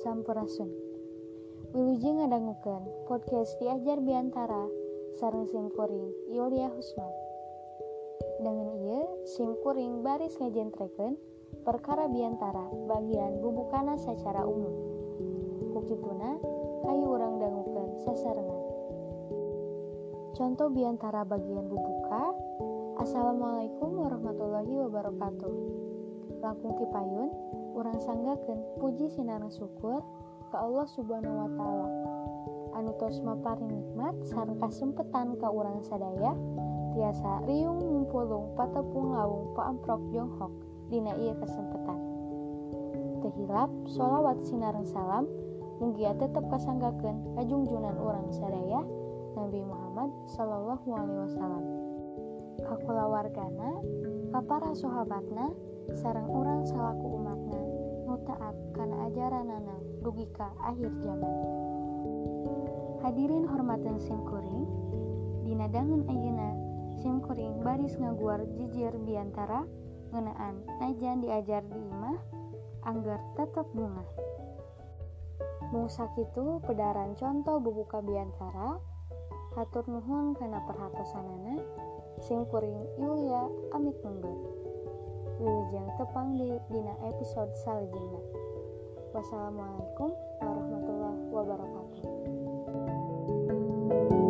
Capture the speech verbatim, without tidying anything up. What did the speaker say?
Sampurasun. Wilujeng ngadangukeun podcast Diajar Biantara sareng simkuring Yulia Husman. Dengan ieu simkuring baris ngajentrekeun perkara biantara bagian bubukana secara umum. Kukituna hayu urang dangukeun sasarengan. Contoh biantara bagian bubuka. Assalamualaikum warahmatullahi wabarakatuh. Langkung kipayun urang sanggakeun puji sinareng syukur ka Allah Subhanahu wa taala anu tos maparing nikmat sareng kasempetan ka urang sadaya tiasa riung mumpulung patepung lawung paamprok jonghok dina ieu kasempetan. Teu hilap sholawat sinareng salam mugia tetep kasanggakeun ka junjunan urang sadaya Nabi Muhammad sallallahu alaihi wasallam, ka kulawargana, ka para sahabatna, sareng urang salaku umatna nu taat kana ajaranana dugi ka akhir zaman. Hadirin hormateun simkuring, dina dangun ayeuna simkuring baris ngaguar jijir biantara ngeunaan najan diajar di imah angger tetep bungah. Mung sakitu pedaran contoh bubuka biantara. Hatur nuhun kana perhatosanana. Simkuring Yulia amit mundur. Wilujeng tepang di dina episode salajengna. Wassalamualaikum warahmatullahi wabarakatuh.